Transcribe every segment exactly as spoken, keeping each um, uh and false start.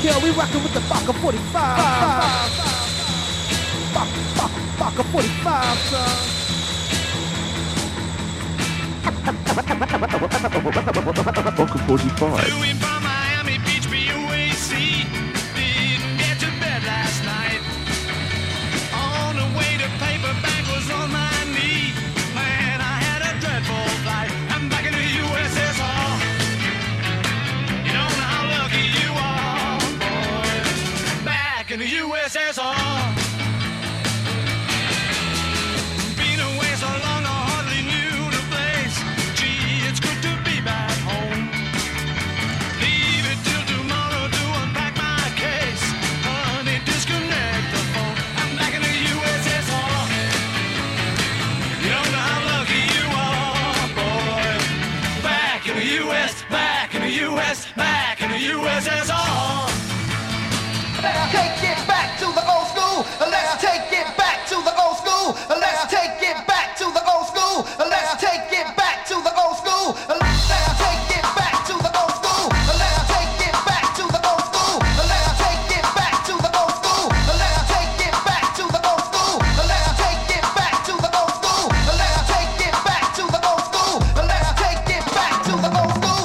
Yeah, we rockin' with the Baka forty-five. Baka forty-five, son. Baka forty-five. Flew in from Miami Beach, B U A C. Didn't get to bed last night. On the way to Paperback was on my knee. Man, I had a dreadful flight. I'm back in the U S S R. You don't know how lucky you are, boy. Back in the U S S R. Been away so long, I hardly knew the place. Gee, it's good to be back home. Leave it till tomorrow to unpack my case. Honey, disconnect the phone. I'm back in the U S S R. You don't know how lucky you are, boy. Back in the U S, back in the U S, back in the U S S R. Let's take it back to the old school. Let's take it back to the old school. Let's take it back to the old school. Let's take it back to the old school. Let's take it back to the old school. Let's take it back to the old school. Let's take it back to the old school. Let's take it back to the old school. Let's take it back to the old school. Let's take it back to the old school. Let's take it back to the old school.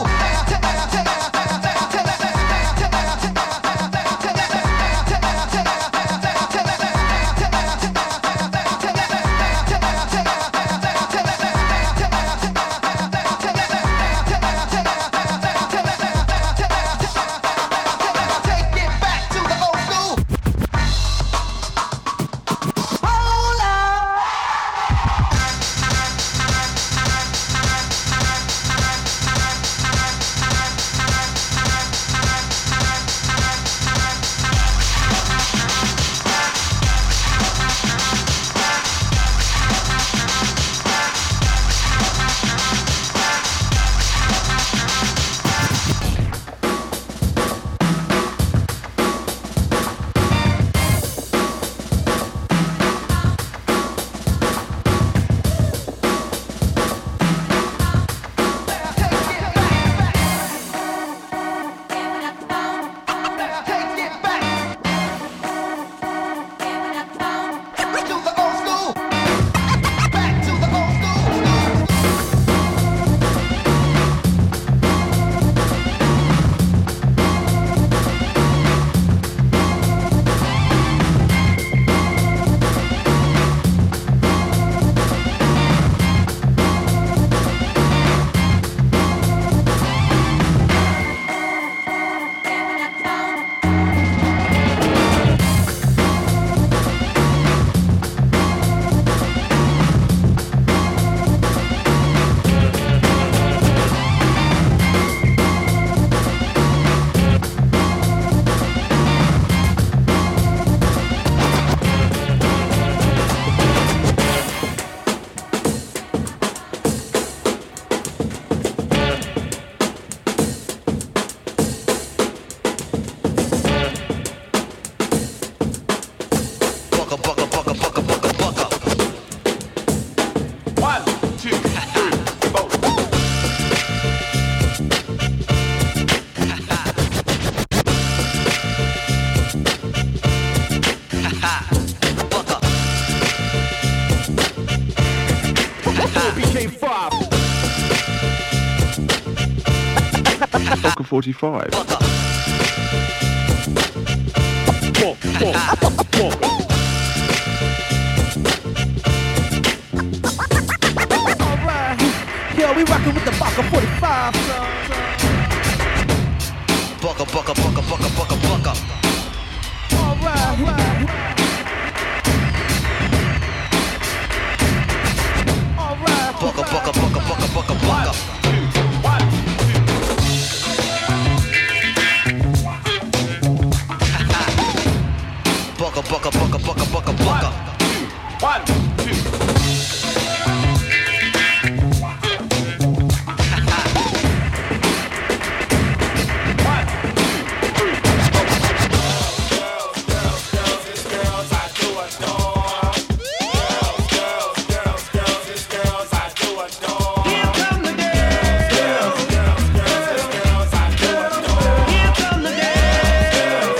Baka forty-five. Alright, yeah, we rockin' with the Baka forty-five, son. Bucka, bucka, bucka, bucka, bucka, bucka. Alright, right. Alright, Bucka, bucka, bucka, bucka, bucka, bucka. Bucka, bucka, bucka, bucka, bucka, bucka. One, two. Here come the girls.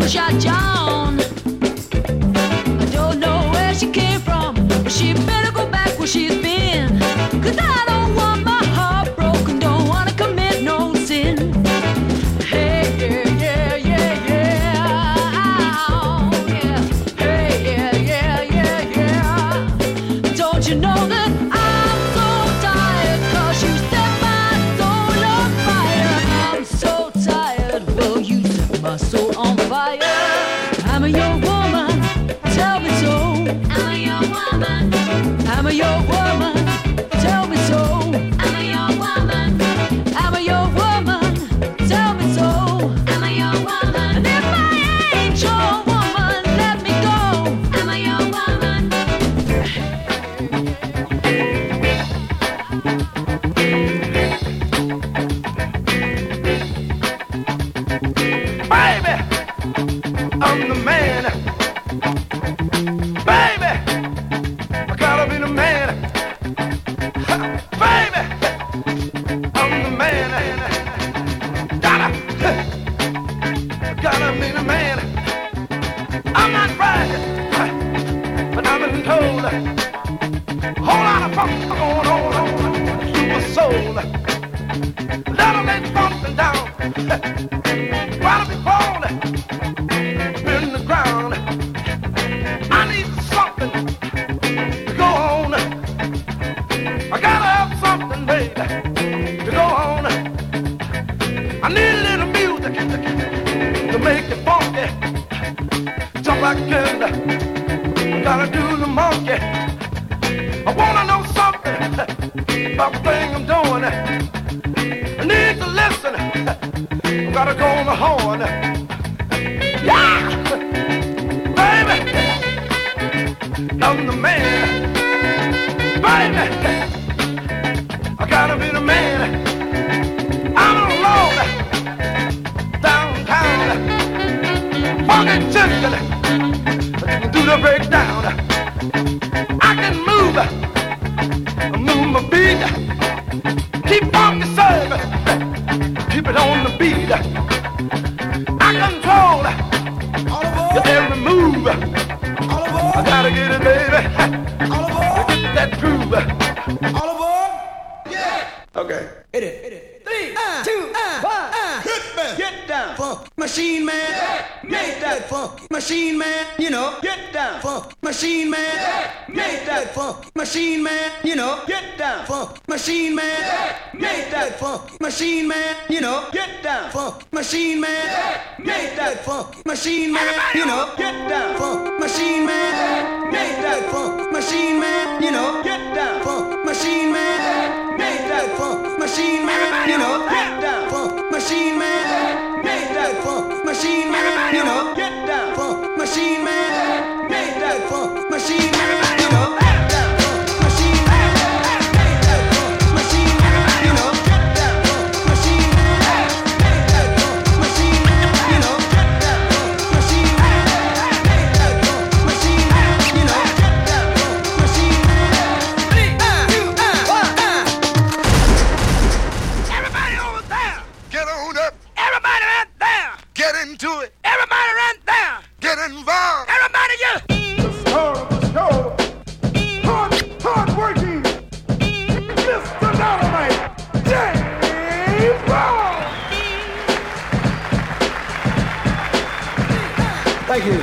shot John. I don't know where she came from, but she better go back where she's been. Cause I don't want my heart broken, don't wanna commit no sin. Hey, yeah, yeah, yeah, yeah. Oh, yeah. Hey, yeah, yeah, yeah, yeah. Don't you know that I'm so tired? Cause you set my soul on fire. I'm so tired, well, you set my soul on fire. I'm a young woman, tell me so. I'm a young woman. I'm a young woman, tell me so. I'm a young woman. I'm a young woman, tell me so. I'm a young woman. And if I ain't your woman, let me go. I'm a young woman. Baby, I'm the man. Baby, I gotta be the man. Ha, baby, I'm the man. Gotta, gotta be the man. I'm not bragging, but I've been told a whole lot of funk going on, super soul. That'll make something down. While be falling in the ground, I need something to go on. I gotta have something, baby, to go on. I need a little music to make it funky, jump like candy. I gotta do the monkey. I wanna know something about the thing I'm doing. I need to listen. I gotta go on the horn. Yeah! Baby! I'm the man. Baby! I gotta be the man. I'm alone. Downtown. Funky chicken. Do the breakdown. I can move. Move my beat. Keep funky service. Keep it on the beat. I control your every move. I gotta get it, baby. Get that groove. All aboard? Yeah. Okay. Hit it. Hit it. Three, uh, two, uh, one. Uh, hit me. Get down. Funk machine man. Yeah. Make that funk machine man. You know. Get down. Funk machine man. Yeah. Make that funk machine man. You know. Get down. Funk machine man. Yeah. Make that funk machine man. You know. Get down. Funk machine man. Yeah. Make that funk machine man. You know. Get down. Funk machine man. Yeah. Make that funk machine man. You know. Get down. Funk machine man. Yeah. Make that funk machine man. You know. Get down. Funk machine man. Yeah. Make that funk machine man. You know. Get down. Funk machine man. Yeah. Make that funk machine man. You know. Get down. Funk machine man. Make that funk machine man. You know. Get down. Funk machine man. Make that funk machine man. You know. Get down. Funk machine man. Make that funk machine man. You know. Get down. Funk machine man. Three, two, one, uh. Everybody over there. Get on up, Everybody right there. get into it, Everybody right there. get involved. Everybody just. The star of the show. Hard, hard working. Mister Dynamite. James Brown. Thank you.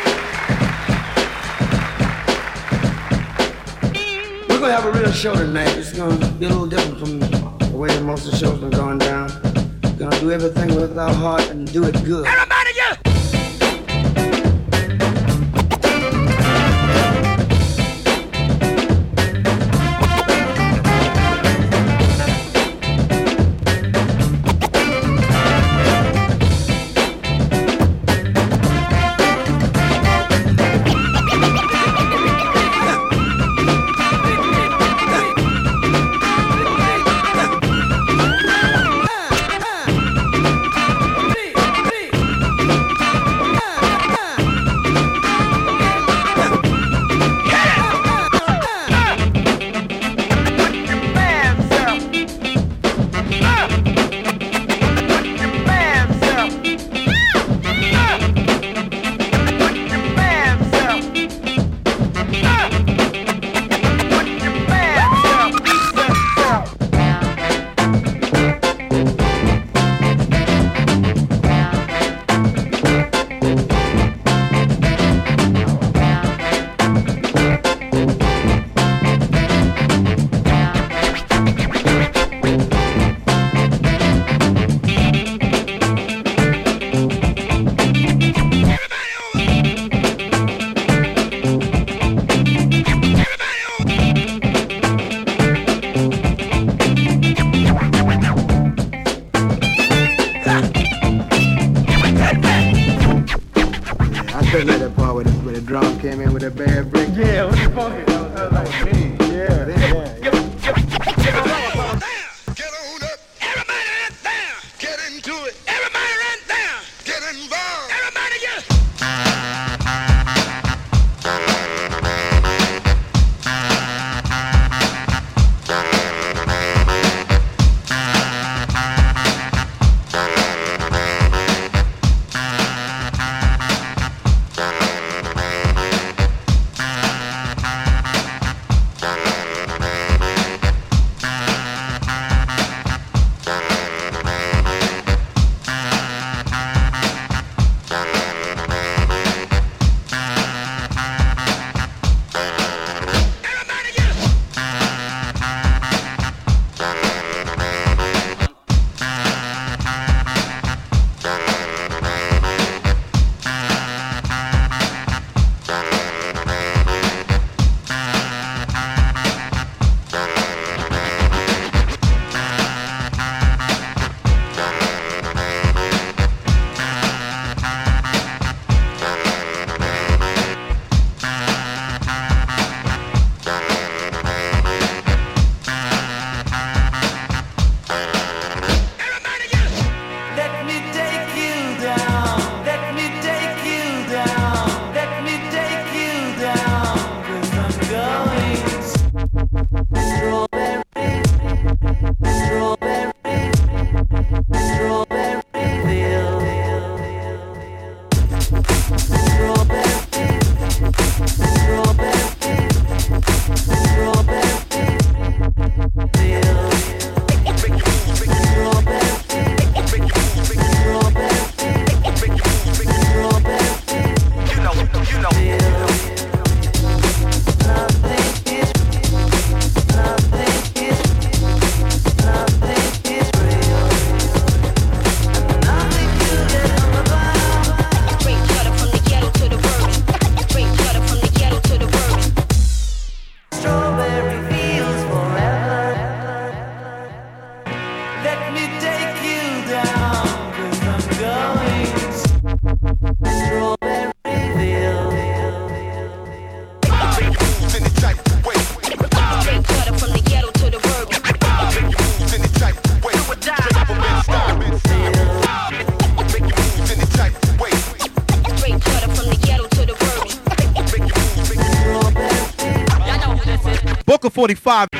We're gonna have a real show tonight. It's gonna be a little different from the way that most of the shows been going down. We're gonna do everything with our heart and do it good. Everybody just. Three, three. drum came in with a bad break. Yeah, what the fuck? That was, that was like me. Yeah, yeah. Get on up. Everybody right there. Get into it. Everybody right there. Get involved. Everybody get. Booker forty-five.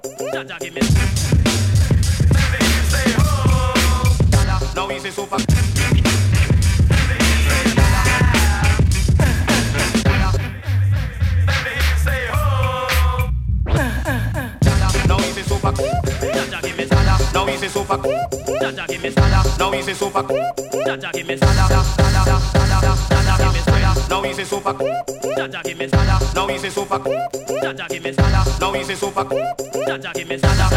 No easy super. super. Jaja give me sada. Now easy super. Jaja give me sada. Sada, sada, sada, give me sada. Now easy super. Jaja give me sada. Now easy super. Jaja give me sada. Now easy super. Jaja give me sada.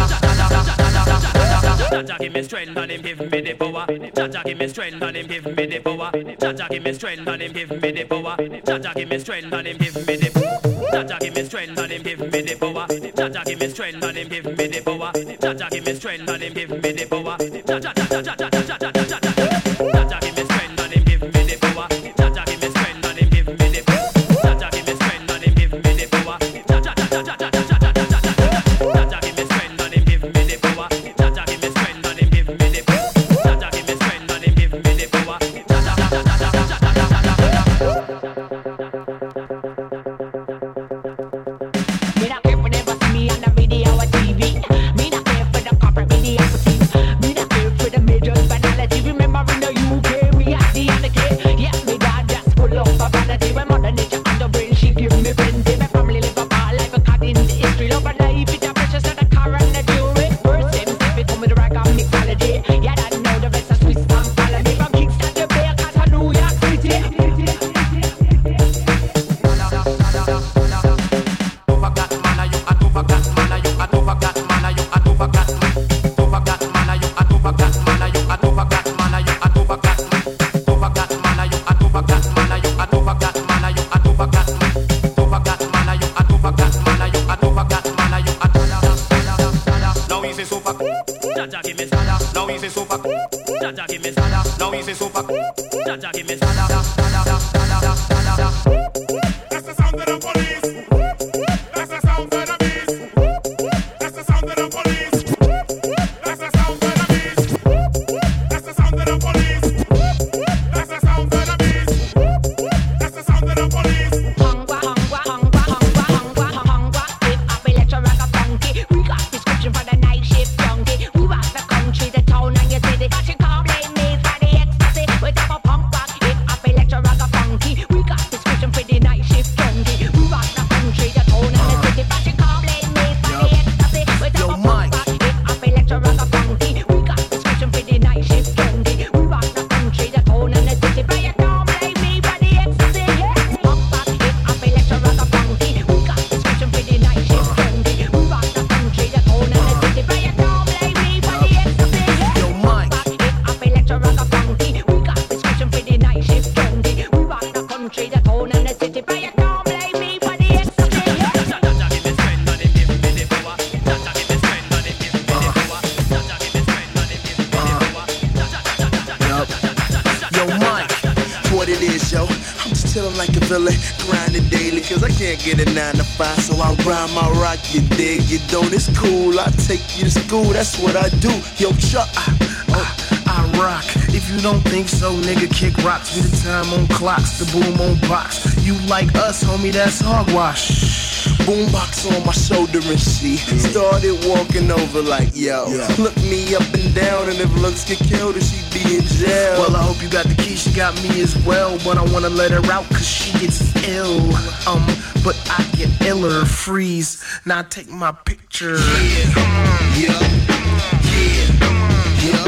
Jaja give me strength and him give me the power. Jaja give me strength and him give me the power. Jaja give me strength and him give me the power. Jaja give me strength and him give me the power. Jaja give me strength and him give me the power. Jaja give me strength and him give me the power. Jaja give me strength and him give me the power. Jaja jaja jaja jaja jaja jaja. Jaja give me strength and him give me the power. Jaja give me strength and him give me the power. Jaja give me strength and him give me the power. Jaja jaja jaja jaja jaja. Jaja give me strength and him give me the power. Jaja give me strength and him give me the power. Jaja give me strength and him give me the power. Jaja jaja jaja jaja jaja. Get a nine to five, so I rhyme, I rock, you dig, you don't, it's cool, I take you to school, that's what I do, yo, Chuck, I, I, I rock, if you don't think so, nigga, kick rocks, be the time on clocks, the boom on box, you like us, homie, that's hogwash, boombox on my shoulder and she started walking over like, yo, look me up and down, and if looks get killed, then she be in jail. Well, I hope you got the key, she got me as well, but I wanna let her out, cause she gets ill, um, but I get iller, freeze, now take my picture. Yeah, yeah, yeah, yeah, yeah,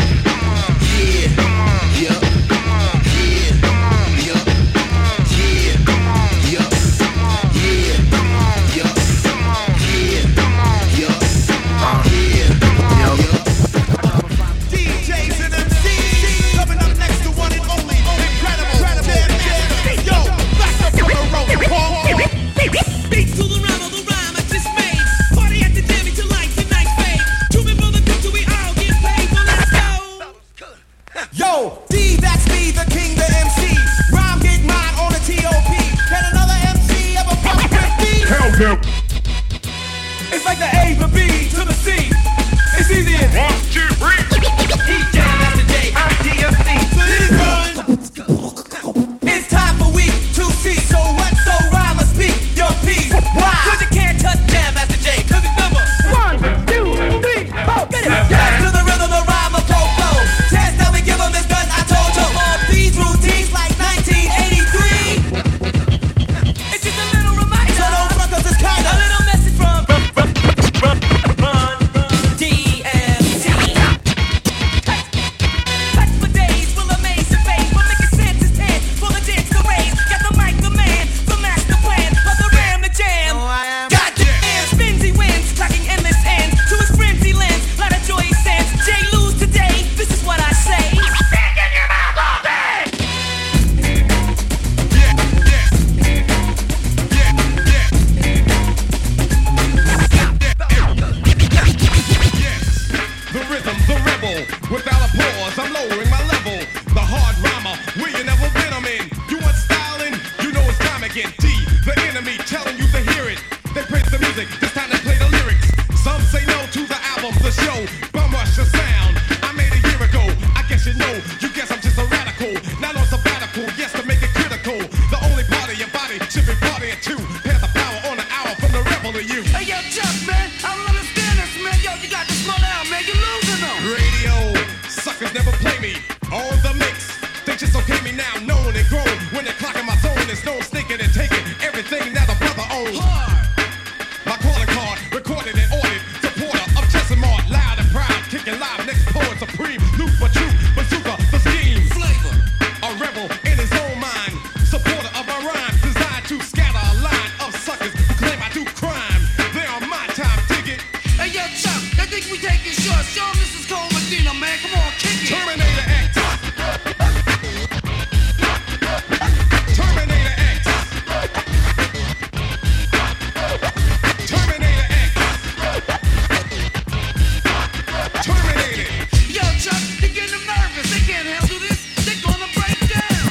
yeah, yeah, yeah, D Js and M Cs coming up next to one and only incredible, incredible, yo, back up from the road, beat to the rhyme of the rhyme I just made. Party at the jam till lights and night fade. Two men for the crew till we all get paid. Well, let's go. Yo, D, that's me, the king, the M C. Rhyme get mine on the T O P. Can another M C ever pop with me? Hell no. It's like the A, the B to the C. It's easy as one, two, three. D J, that's the J, I'm D M C. So this run. It's time for we to see. So what? So rhyme or speak your piece. Why? Cause you can't touch jam, that's the J. Cause it's number one, two, three, four. Get it. Dance to the rhythm, the rhyme of pro-flow. Test how we give them this gun, I told you. All these routines like nineteen eighty-three. It's just a little reminder. So don't front cause it's kinda a little message from D M C. suck, man. I don't understand this, man. Yo, you got to slow down, man. You're losing them. Radio suckers never play me on the mix. They just okay me now, known and grown. When they're clocking my zone, there's no sneaking and taking everything that a brother owns. My calling card, recorded and ordered. Supporter of Chesimard, loud and proud, kicking live next poet supreme. Loop for truth, bazooka, the scheme. Flavor, a rebel in his own mind. Supporter of my rhymes, designed to scatter a line of suckers who claim I do crime. They on my time, dig it. Hey, yo, Chuck, I think we taking shots. Show him this is Cole Medina, man. Come on, kick it. Terminator X. Terminator X. Terminator X. Terminator. Yo, Chuck, they getting them nervous. They can't handle this. They're gonna break down.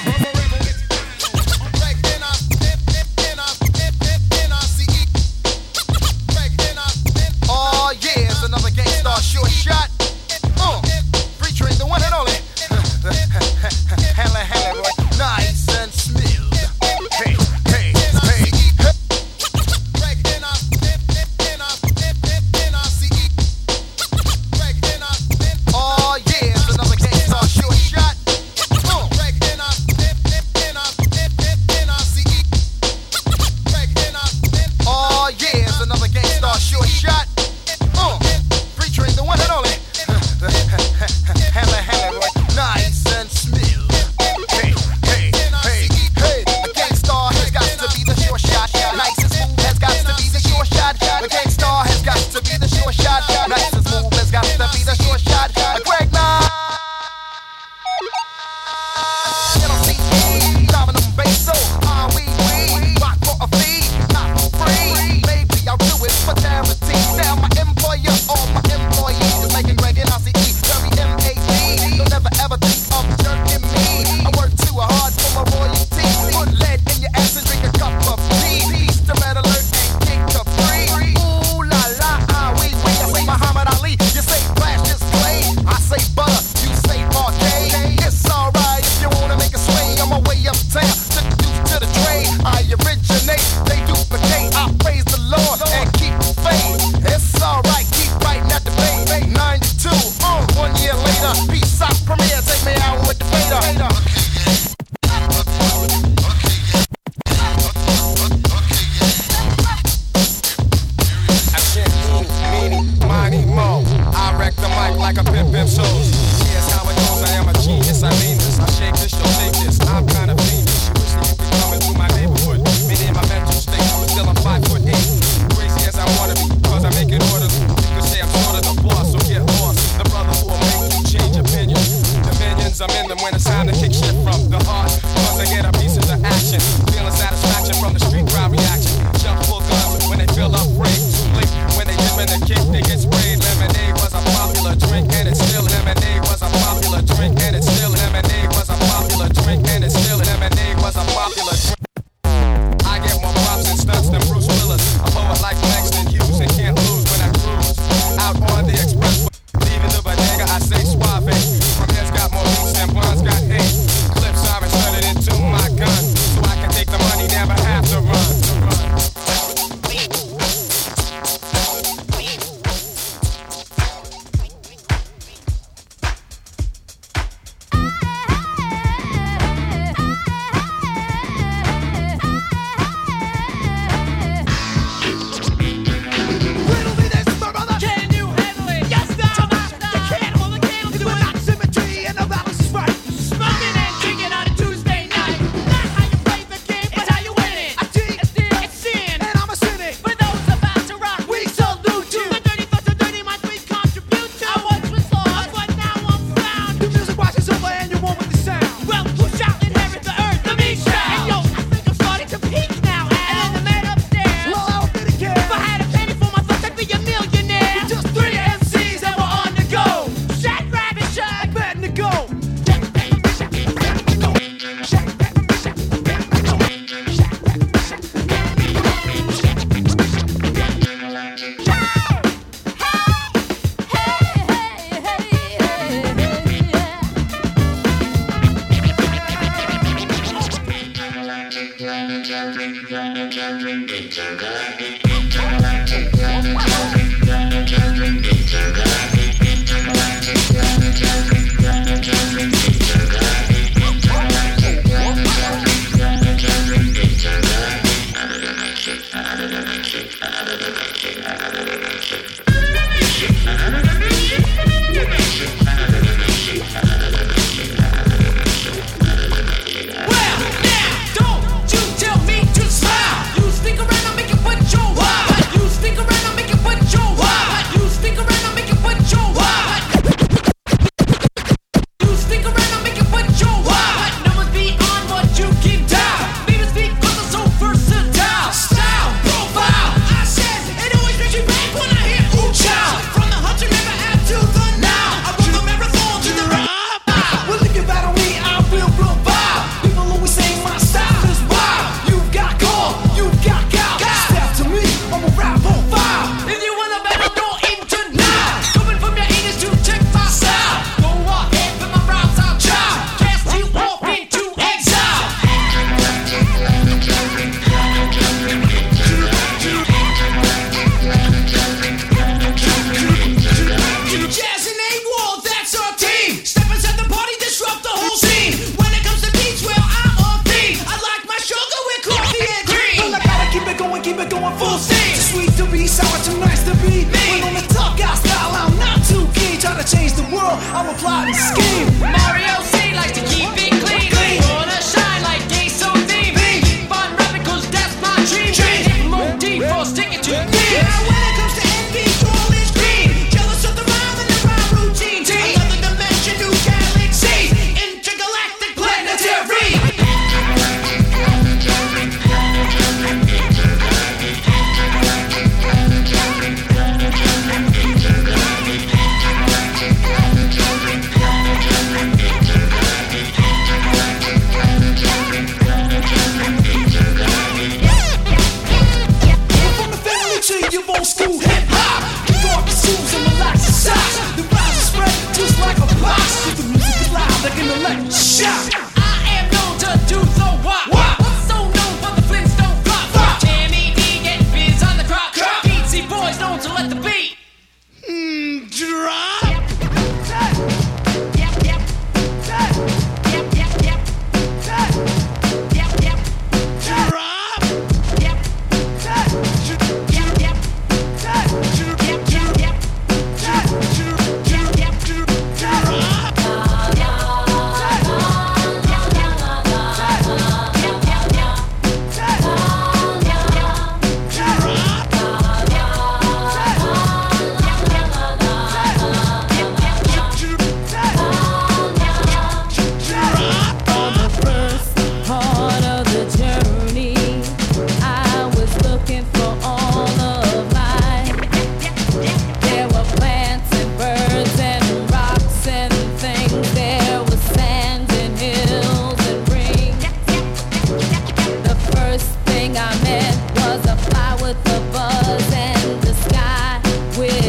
Oh yeah, it's another Gangstar short shot. Uh, featuring the one and only. Hella, hella, boy. Nice and smooth. Hey, hey, hey. Oh yeah, it's another Gangstar short shot. Uh. Oh yeah, it's another Gangstar short shot. Uh, featuring the one and only. Hella, hella, boy. Nice and smooth. Hey, hey, hey, hey. A Gangstar has got to be the short shot. Nice and smooth has got to be the short shot. A Gangstar has got to be the short shot. Nice and smooth has got to be the short shot. A Greg Nye. Dominum basso. Ah, we, we. Rock for a fee. Not for free. Maybe I'll do it for charity. Now my employer or my employee is making Greg and I C E very M A D. Don't never ever think of jerking me. I work too hard for my royalty. Put lead in your ass and drink a cup of tea. Peace to Red Alert and kick to free. Ooh la la, ah we we. I say Muhammad Ali, you say Flash is Clay. I say butter, you say parquet. It's alright if you wanna make a swing. On my way uptown, took the deuce to the trade. I originate, they duplicate. I praise the Lord and keep the faith. It's alright, keep writing at the bay. ninety-two, uh, one year later, peace out, premiere, take me out with the fader. Mighty Mo, I wreck the mic like a pimp pimp shows. Here's how it goes, I am a genius, I mean this. I shake this, you'll take this, I'm kinda fiendish. You wish that you could come into my neighborhood. Me in my mental state, but still I'm five foot eight. Crazy as I wanna be, cause I make it orderly. You could say I'm sort of the boss, so get lost. The brother who will make you change opinions. Dominions, I'm in them when it's time to kick shit from the heart. Cause I get a piece of the action. Feeling satisfaction from the street crowd reaction. Jump full guns when they feel afraid. Too late when they dip in the kick, they get sprayed. Lemonade was a popular drink and it's still lemonade was a popular drink and it's still lemonade was a popular drink and it's still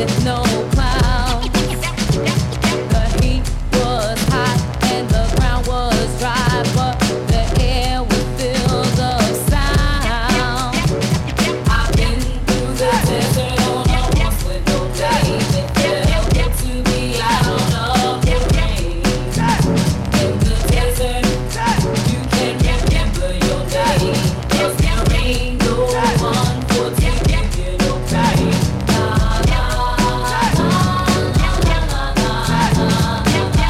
with no clouds. The heat was hot and the ground was dry, but the air was filled of sound. I've been through the desert on a horse with no days. It felt good to be out of the rain. In the desert, you can remember your day. 'Cause there ain't no one for to give you no pain. La la la la la la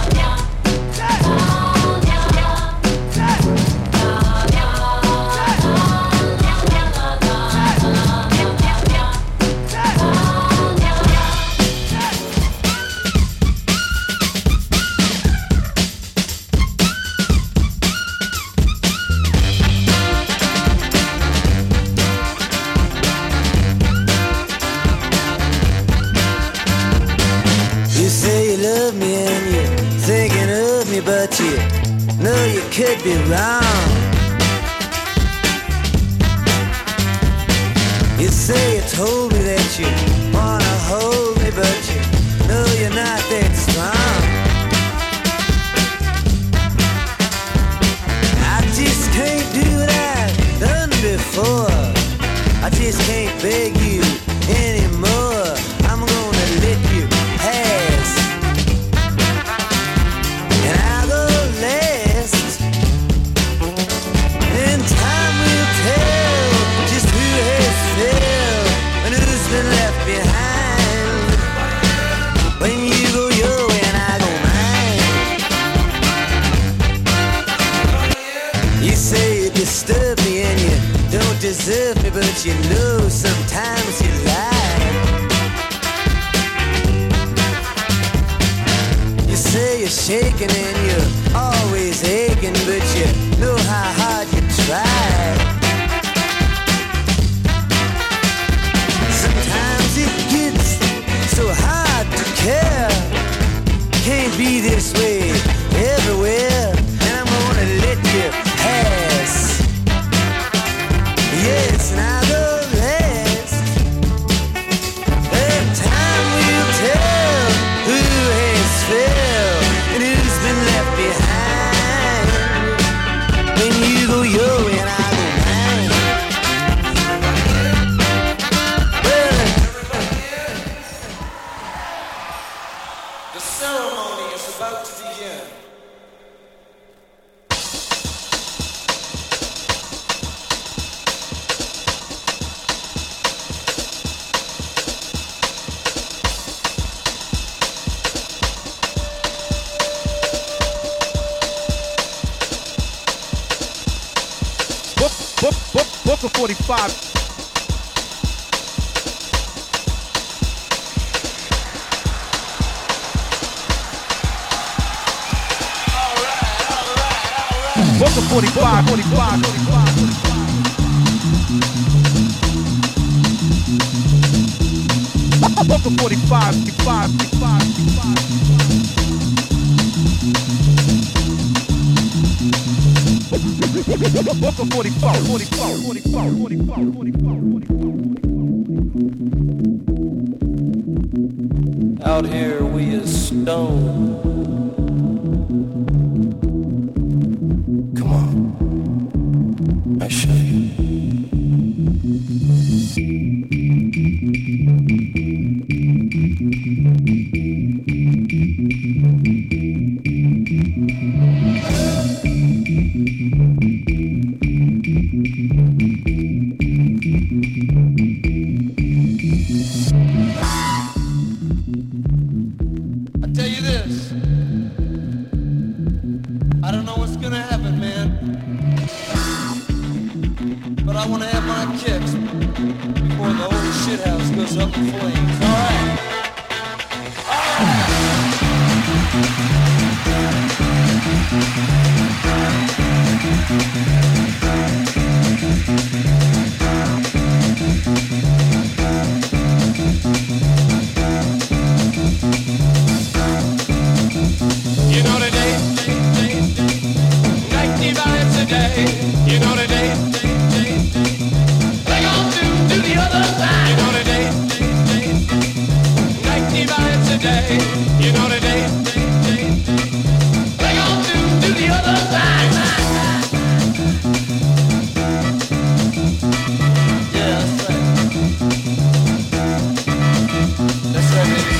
You say you love me and you're thinking of me, but you know you could be wrong. You say you told me that you wanna hold me, but you know you're not that strong. I just can't do what I've done before. I just can't beg you anymore. I'm gonna let you pass, and I'll go last. And time will tell just who has failed and who's been left behind. When you go your way and I go mine. You say you disturb me and you don't deserve me, but you know sometimes you lie. You say you're shaking and you're always aching, but you know how hard you try. Sometimes it gets so hard to care. Can't be this way everywhere, and I'm gonna let you pass. Yes, and I'll go last. And time will tell who has failed and who's been left behind. When you go your way and I go mine. Well, The ceremony is about to begin. Book, book, book, Booker forty-five. Booker forty-five, forty-five, forty-five, forty-five. Booker forty-five, forty-five, forty-five, forty-five. Booker forty-four, forty-four, forty-four, forty-four, forty-four, forty-four. Out here we is stoned. Come on, I show you. I tell you this, I don't know what's gonna happen, man, but I wanna have my kicks before the whole shithouse goes up in flames. All right. day. You know the day. We're gonna do to the other side. Yeah, that's right. That's right, baby.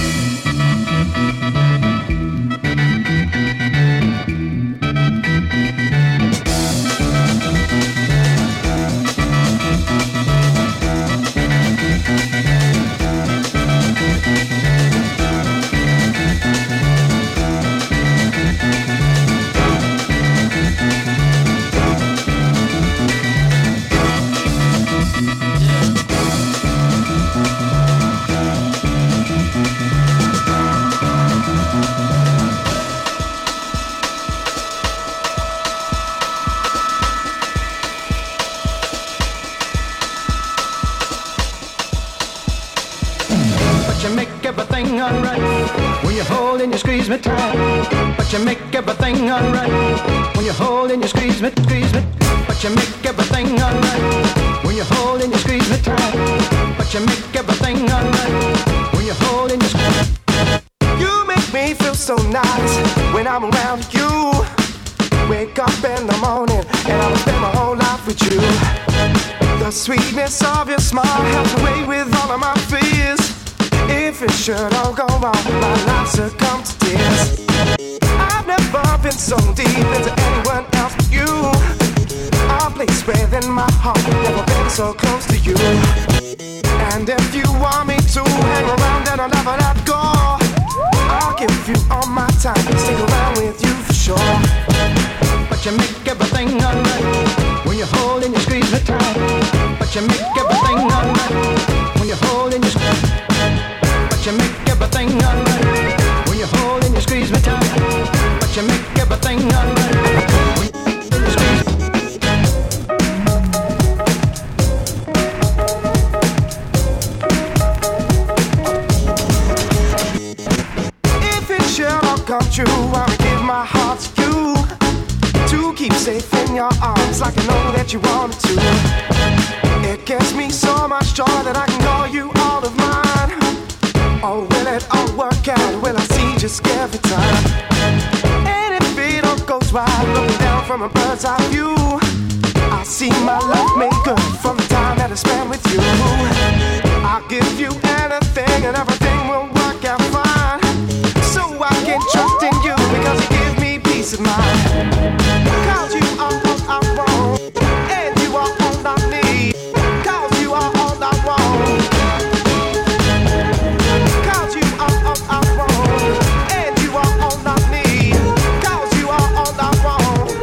But you make everything alright when you hold and you squeeze me tight. But you make everything alright when you hold and you squeeze me, squeeze me. But you make everything alright when you hold and you squeeze me tight. But you make everything alright when you hold and you squeeze. You make me feel so nice when I'm around you. Wake up in the morning and I'll spend my whole life with you. The sweetness of your smile helps away with all of my fears. If it should all go wrong, my life succumb to tears. I've never been so deep into anyone else but you. A place within my heart, never been so close to you. And if you want me to hang around and I'll never let go, I'll give you all my time, stick around with you for sure. But you make everything alright when you hold and you squeeze me tight. But you make everything alright when you hold and you squeeze. But you make everything alright when you hold and you squeeze me tight. But you make everything alright when you squeeze. If it should all come true, I'll give my heart to you, to keep safe in your arms like I know that you wanted to. It gives me so much joy that I can call you all of mine. Oh, will it all work out? Will I see just every time? And if it all goes right, looking down from a bird's eye view, I see my love made good from the time that I spent with you. I'll give you anything and everything will work out fine. So I can trust in you because you give me peace of mind. Cause you are all I want, and you are all I need. Cause you are all I want. Cause you are all I want, and you are all I need. Cause you are all I want.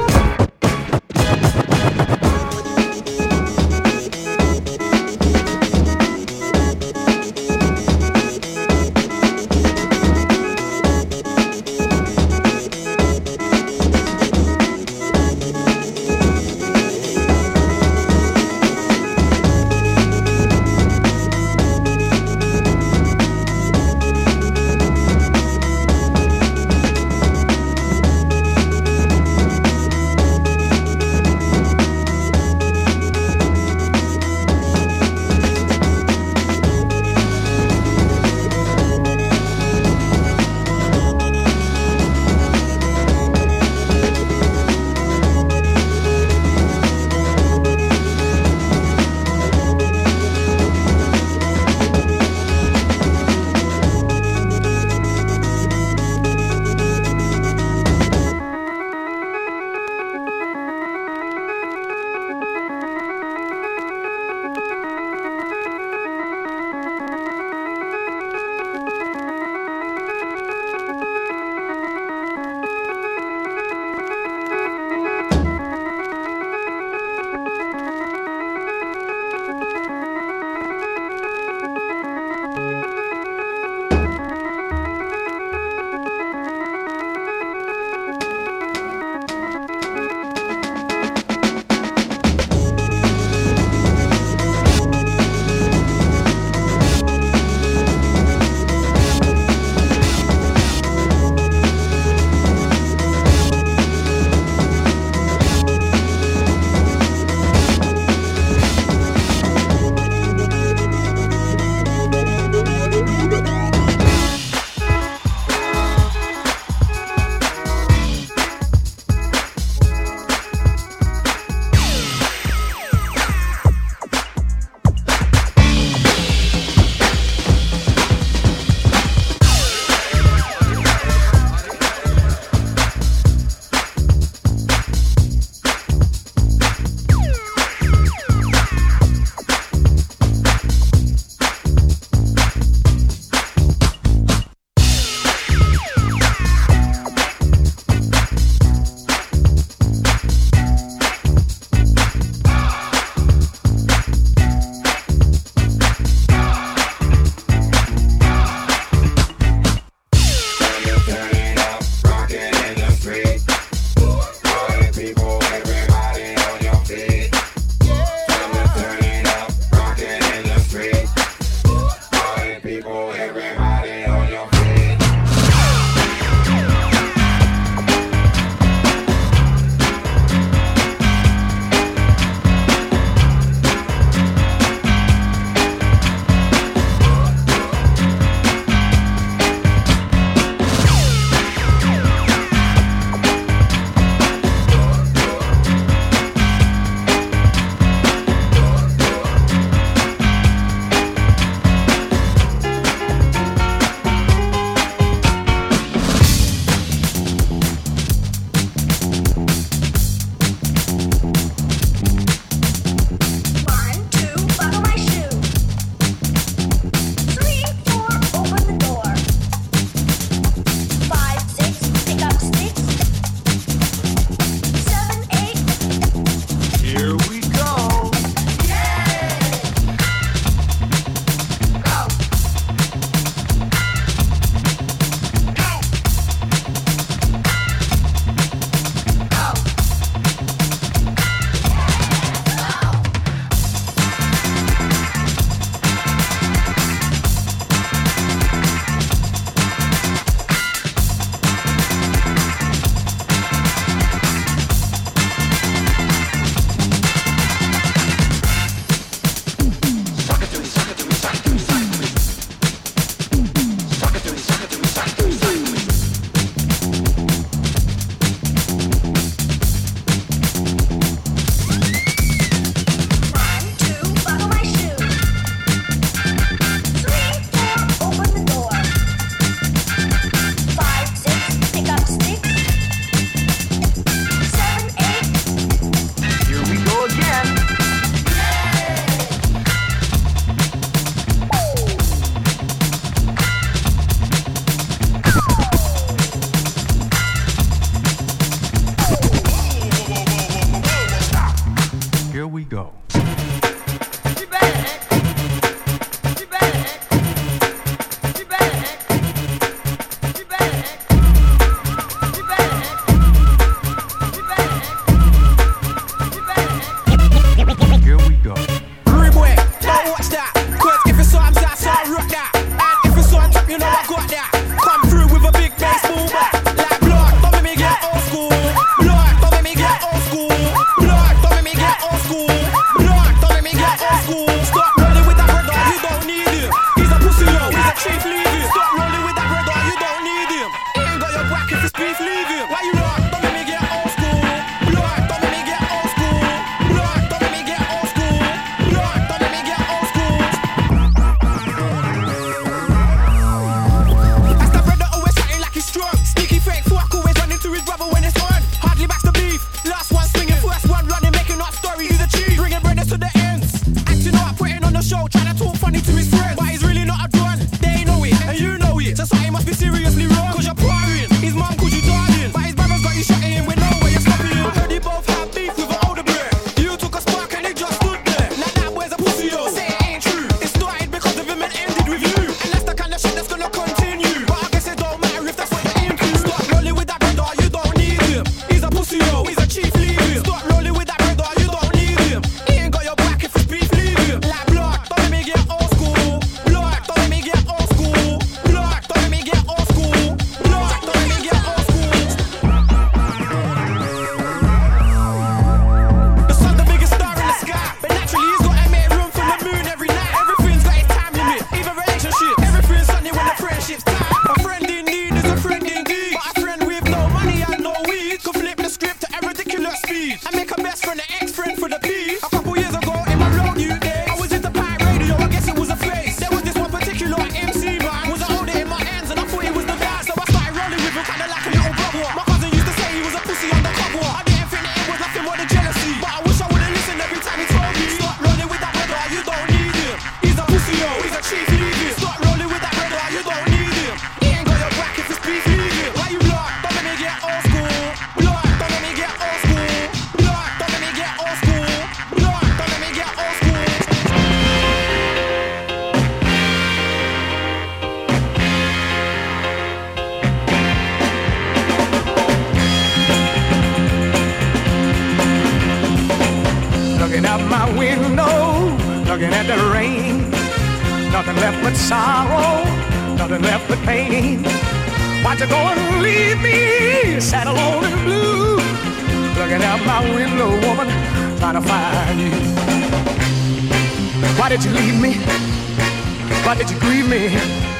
the rain. Nothing left but sorrow, nothing left but pain. Why'd you go and leave me sad, alone and blue? Looking out my window, woman, trying to find you. Why did you leave me? Why did you grieve me?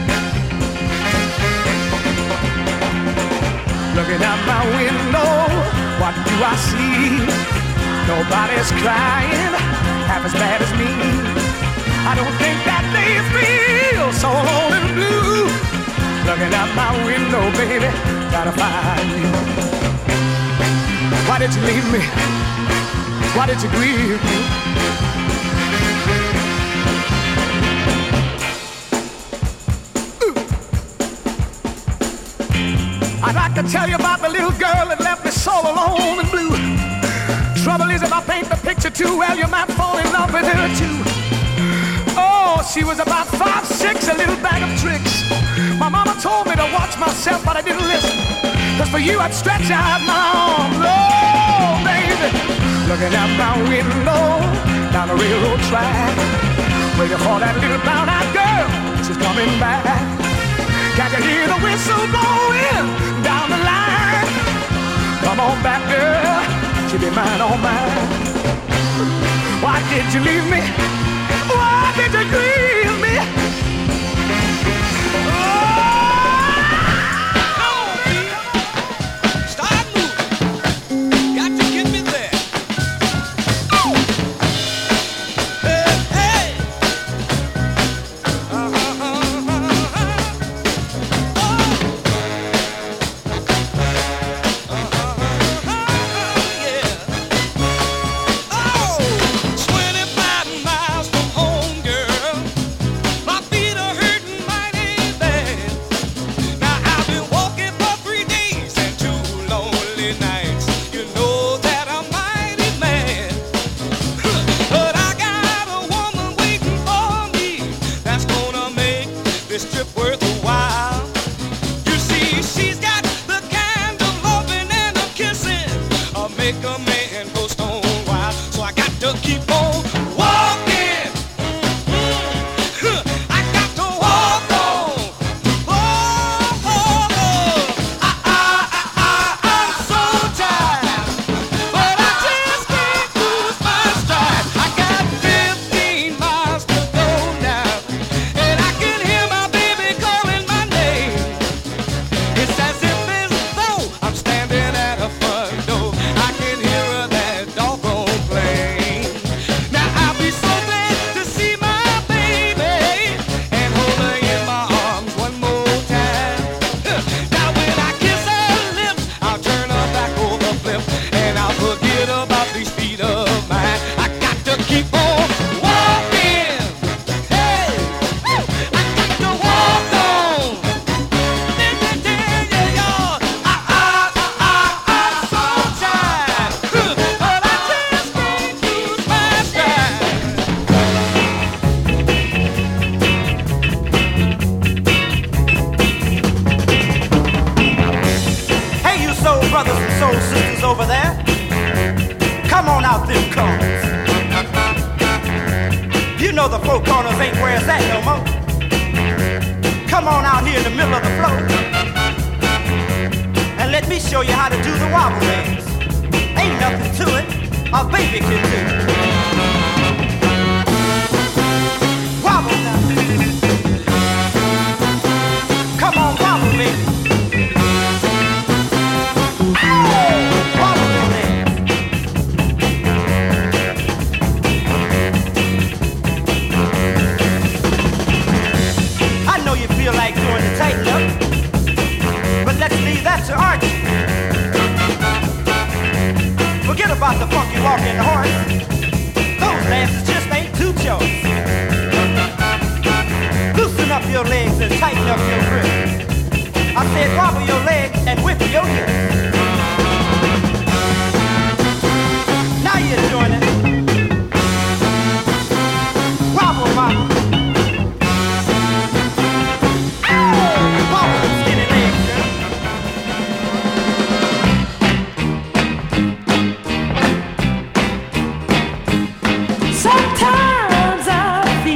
Looking out my window, what do I see? Nobody's crying half as bad as me. I don't think that they feel so alone and blue. Looking out my window, baby, gotta find you. Why did you leave me? Why did you grieve me? I'd like to tell you about the little girl that left me so alone and blue. Trouble is, if I paint the picture too well, you might fall in love with her too. Oh, she was about five, six, a little bag of tricks. My mama told me to watch myself, but I didn't listen. Cause for you, I'd stretch out my arms. Oh, baby, looking out my window, down the railroad track, waiting for that little brown-eyed girl. She's coming back. Can't you hear the whistle blowing down the line? Come on back, girl, she'll be mine, oh mine. Why did you leave me? Why did you grieve me? Start moving. Got to get me there. Hey, hey. Uh-huh, uh-huh. twenty-five miles from home, girl. My feet are hurting mighty bad. Now I've been walking for three days and two lonely nights. You know that I'm mighty mad. But I got a woman waiting for me that's gonna make this trip worth a while. You see, she's got the kind of loving and a kissing uh, make a man go stone wild. So I got to keep on walking. Mm-hmm. I got to walk on. Oh, oh, oh. I, I, I, I, I'm so tired, but I just can't lose my stride. I got fifteen miles to go now, and I can hear my baby calling my name. It's as if as though I'm standing at a front door. I can hear her that doggone plane. Now I'll be so glad to see my baby and hold her in my arms one more time. Now when I kiss her lips, I'll turn her back over flip, and I'll forget about these feet of mine. I got to keep on walking. Hey, I got to walk on. Hey, you soul brothers and soul sisters over there. Come on out them corners. You know the four corners ain't where it's at no more. Come on out here in the middle of the floor and let me show you how to do the wobble dance. Ain't nothing to it, a baby can do it. Wobble now. Come on, wobble, baby. Wobble your legs. I know you feel like doing the tighten up, but let's leave that to Archie. Forget about the funky walk and the horse. Those dances just ain't too choice. Loosen up your legs and tighten up your grip. I said wobble your legs and whip your hips. Now you're doing it. Wobble, wobble. Wobble them skinny legs, girl. Sometimes I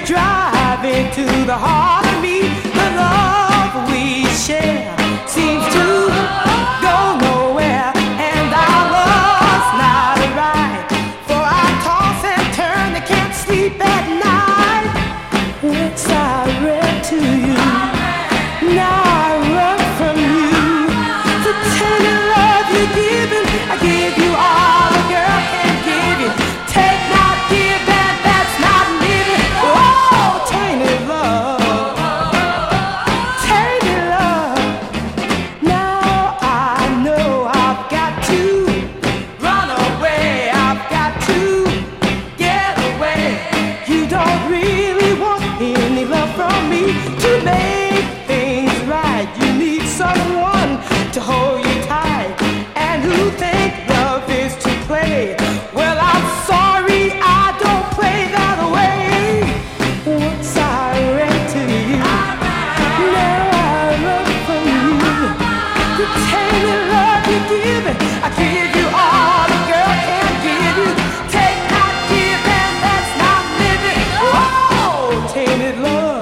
driving to the heart of me. The love we share seems to go nowhere, and our love's not right. For I toss and turn, I can't sleep at night. Once I read to you, now I run from you. The tender love you're giving, I give you all a girl can give you. Take not, give, and that's not living. Oh, tainted love, tainted love. Now I know I've got to run away. I've got to get away. You don't really want any love from me to make things right. You need someone to hold you tight, and who think love is to play. Well, I'm sorry, I don't play that way. Once I ran to you, now I run from you. The tainted love you're giving, I give you all a girl can give you. Take not, give, and that's not living. Oh, tainted love.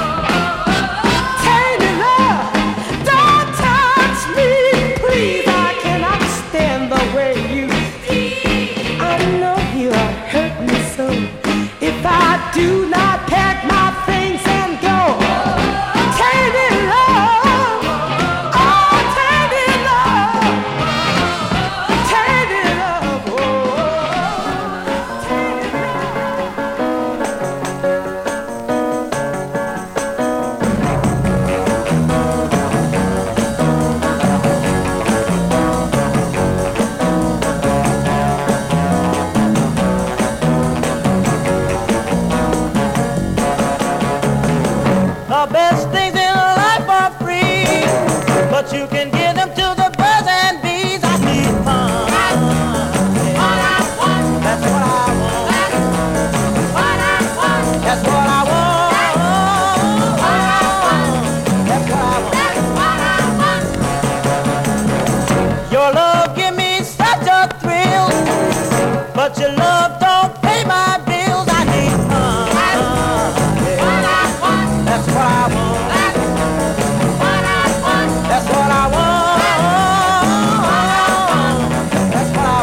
Tainted love, don't touch me, please. I cannot stand the way you. I know you are hurt me so. If I do not pack my things and go, tainted love, oh, tainted love, tainted love, oh, tainted The best things in life are free, but you can give them to the birds and bees. I need fun. That's what I want. That's what I want. That's what I want. Your love give me such a thrill, but your love don't pay my bills. I need fun. That's what I want. That's what I want. That's what I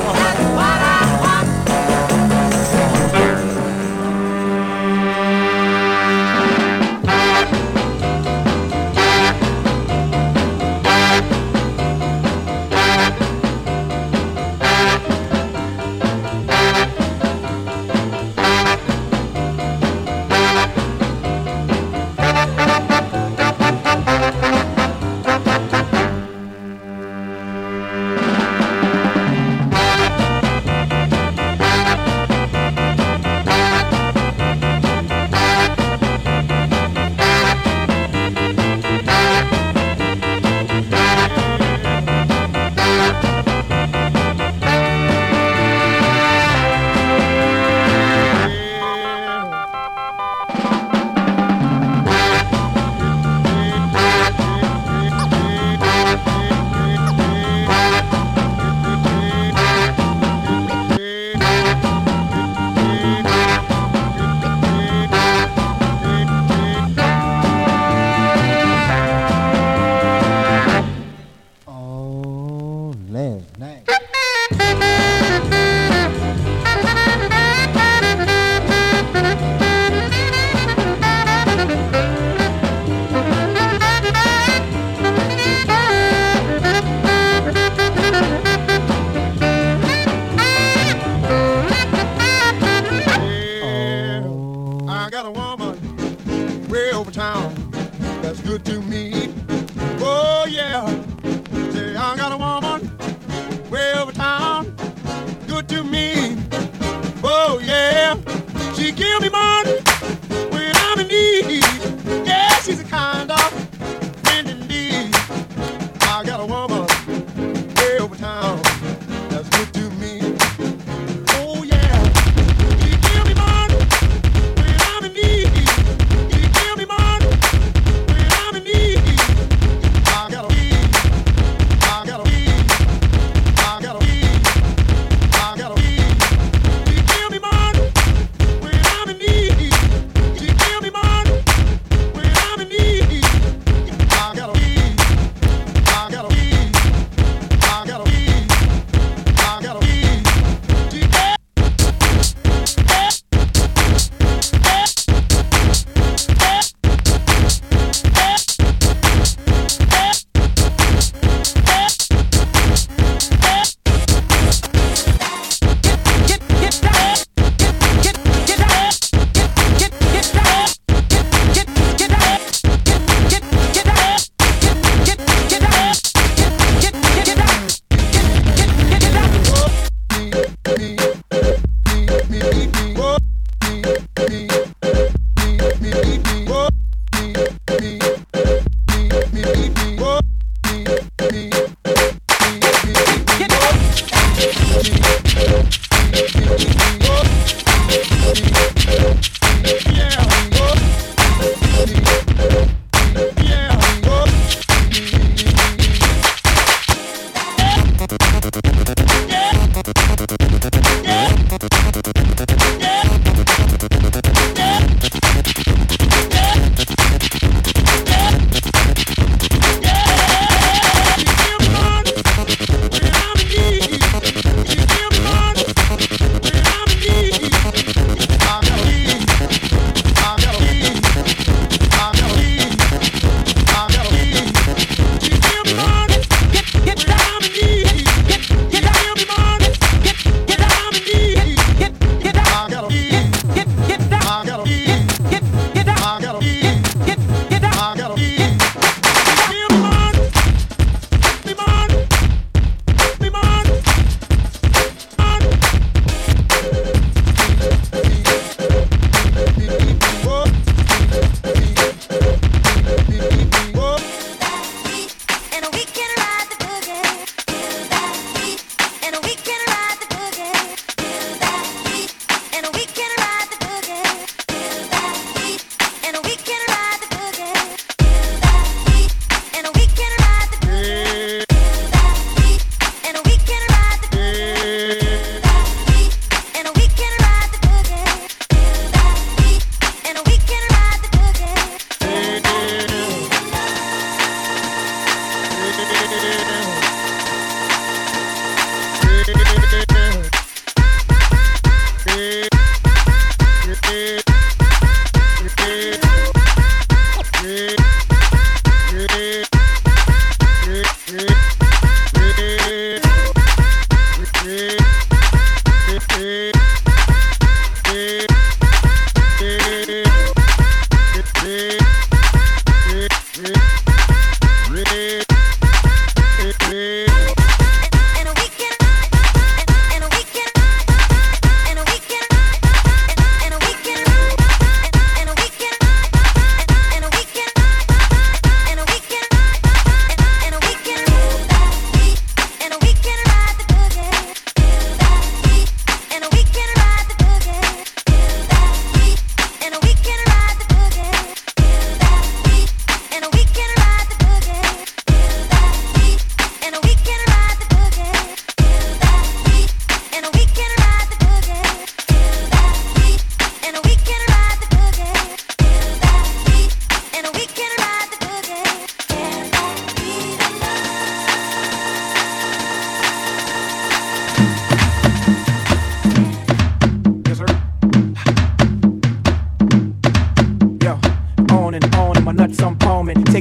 When I'm in need.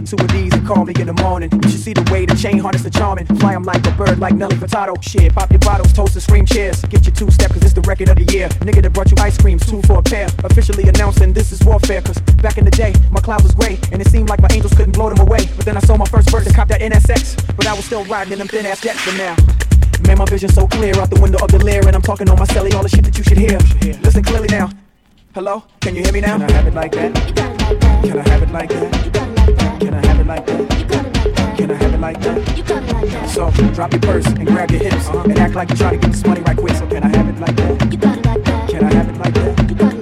two of these and call me in the morning. You should see the way the chain harness the charming. Fly 'em like a bird, like Nelly Furtado. Shit, pop your bottles, toast and scream cheers. Get your two-step, cause it's the record of the year. Nigga that brought you ice creams, two for a pair. Officially announcing this is warfare, cause back in the day, my cloud was gray, and it seemed like my angels couldn't blow them away. But then I saw my first bird to cop that N S X, but I was still riding in them thin-ass jets. But now, man, my vision's so clear out the window of the lair, and I'm talking on my celly, all the shit that you should hear. Listen clearly now. Hello? Can you hear me now? Can I have it like that? Can I have it like that? Can I have it like that? Can I have it like that? So drop your purse and grab your hips uh-huh. and act like you're trying to get this money right quick. So can I have it like that? Can I have it like that?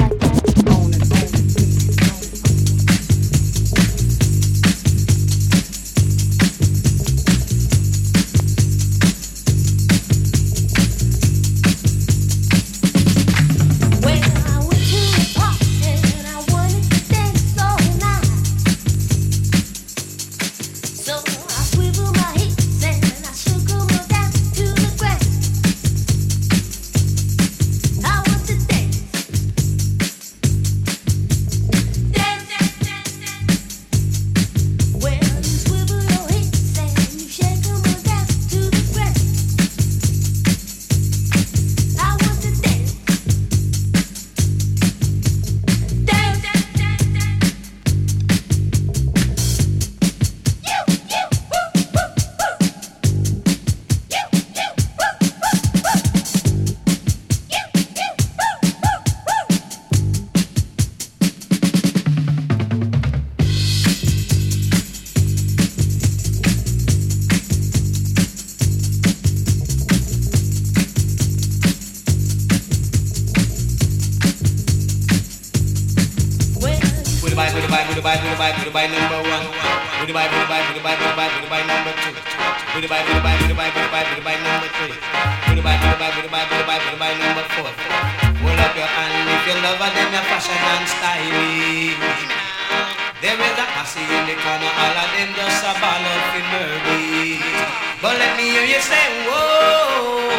By number one, with the by, with the by, with the by, with the by, with the by number two, with the by, with the by, with the by, with the by, with the by number three, with the by, with the by, with the by, with the by, with the by number four. Hold up your hand if you love her, then your fashion and styling. There is a posse in the corner, all of them just a ball of murder. But let me hear you say, whoa,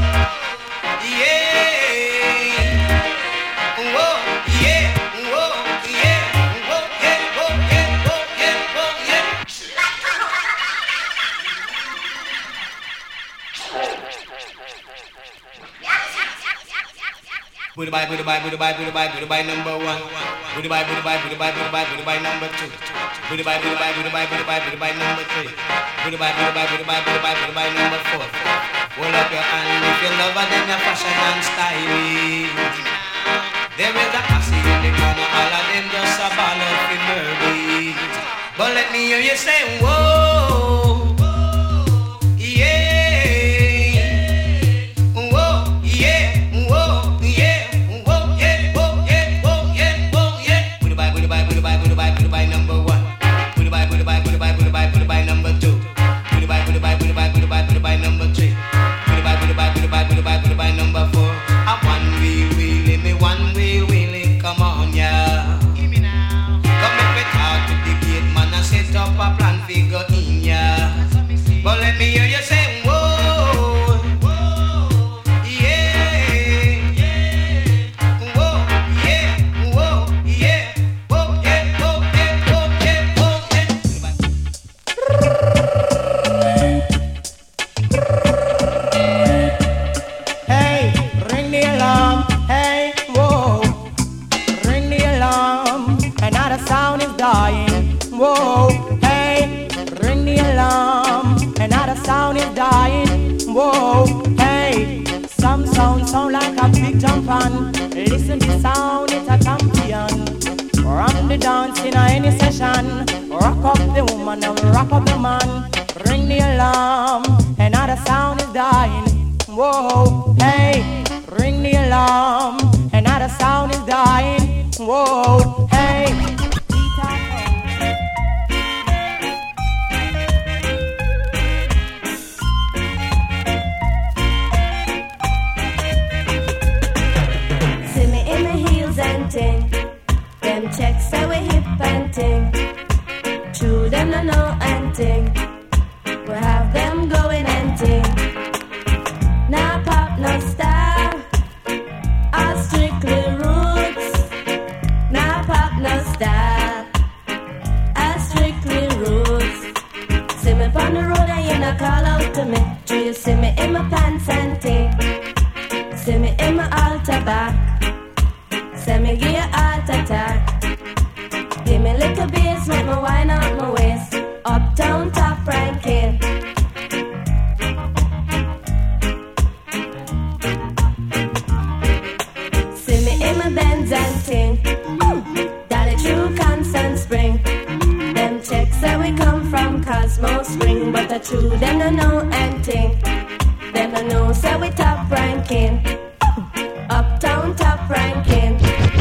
yeah, whoa, yeah, whoa. With the by, with the by, with the by, with the by, with the by number one. With the by, with the by, with the by, with the by, with the by number two. With the by, with the by, with the by, with the by, with the by number three. With the by, with the by, with the by, with the by, with the by number four. Hold up your hand if you love her, then your fashion and styling. There is a posse in the corner, all of them just a ball of murder. But let me hear you say, whoa, yeah. Listen to sound, it's a champion. From the dance in any session, rock up the woman and rock up the man. Ring the alarm, another sound is dying. Whoa, hey, ring the alarm, another sound is dying. Whoa, hey. Them checks say we hip and ting. True them no know and ting. We have them going and ting. Now pop no style. Us Send me give you heart attack. Give me little bass, make me wine out my waist. Uptown top ranking. See me in my Benz and ting. Daddy true Constant Spring. Them checks say we come from Cosmo Spring, but the true them no know anything. Them no know say we top ranking. Uptown top ranking.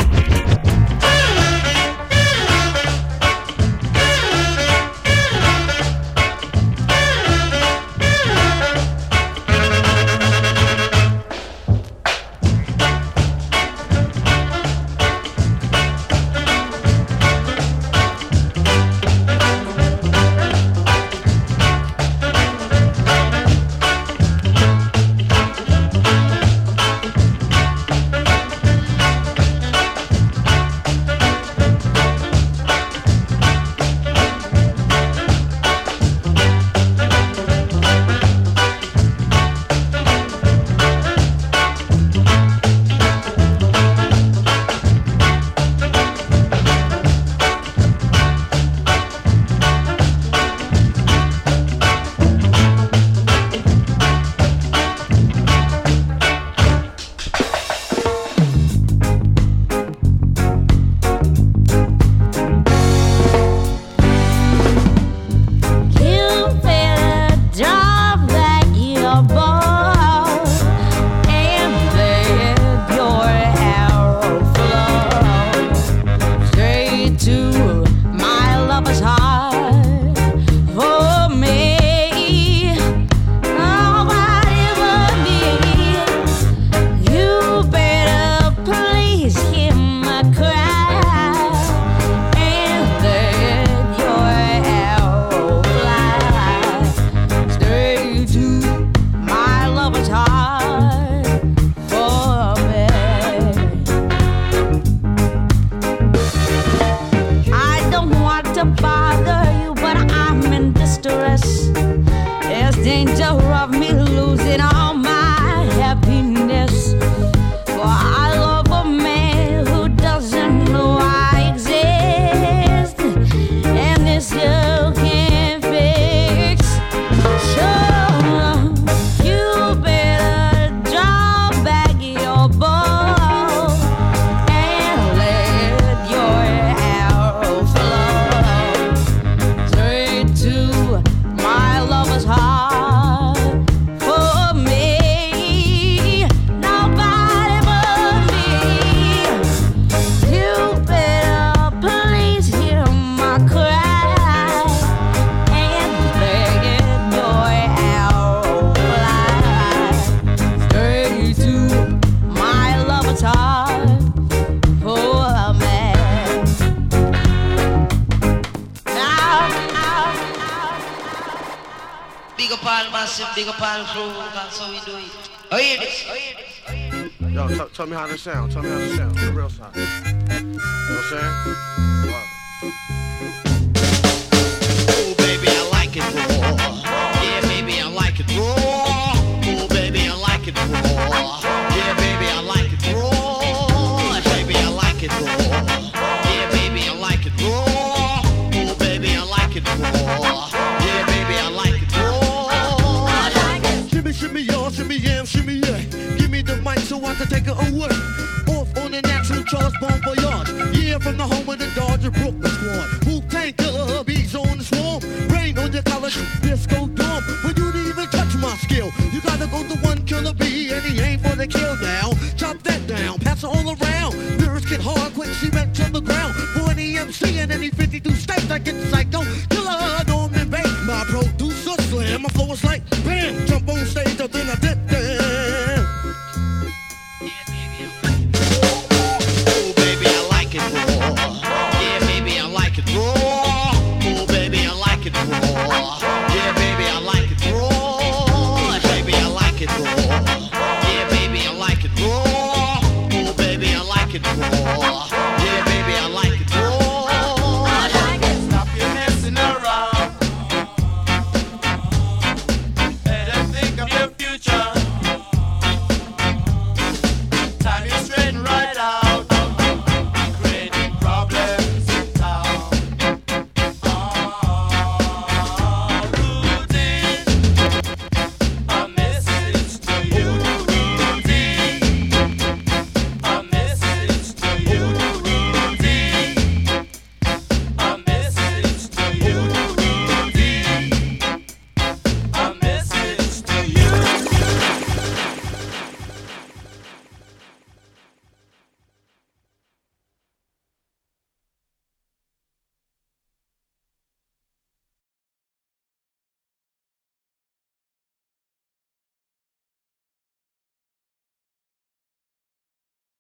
Big up all crew, that's how we do it. Oh, hear this. Yo, t- tell me how this sound. Tell me how this sound. The real side. You know what I'm saying? Wow. Oh, baby, I like it raw. Yeah, baby, I like it raw. Oh, baby, I like it raw. Yeah, baby, I like it raw. Baby, I like it raw. Yeah, baby, I like it raw. Oh, baby, I like it raw. Yeah, baby, I like it raw. Shimmy, shimmy, y'all, shimmy, yam, shimmy, yeah. Give me the mic so I can take it away. Off on the natural Charles Bon Voyage. Yeah, from the home of the Dodger Brooklyn squad. Wu-Tang Killer, bees on the swarm. Rain on your college disco dorm. But you didn't even touch my skill. You gotta go to one killer bee, and he ain't for the kill now. Chop that down, pass it all around. Lyrics get hard, quick cement on the ground. For any M C in any fifty-two states, I get the psycho.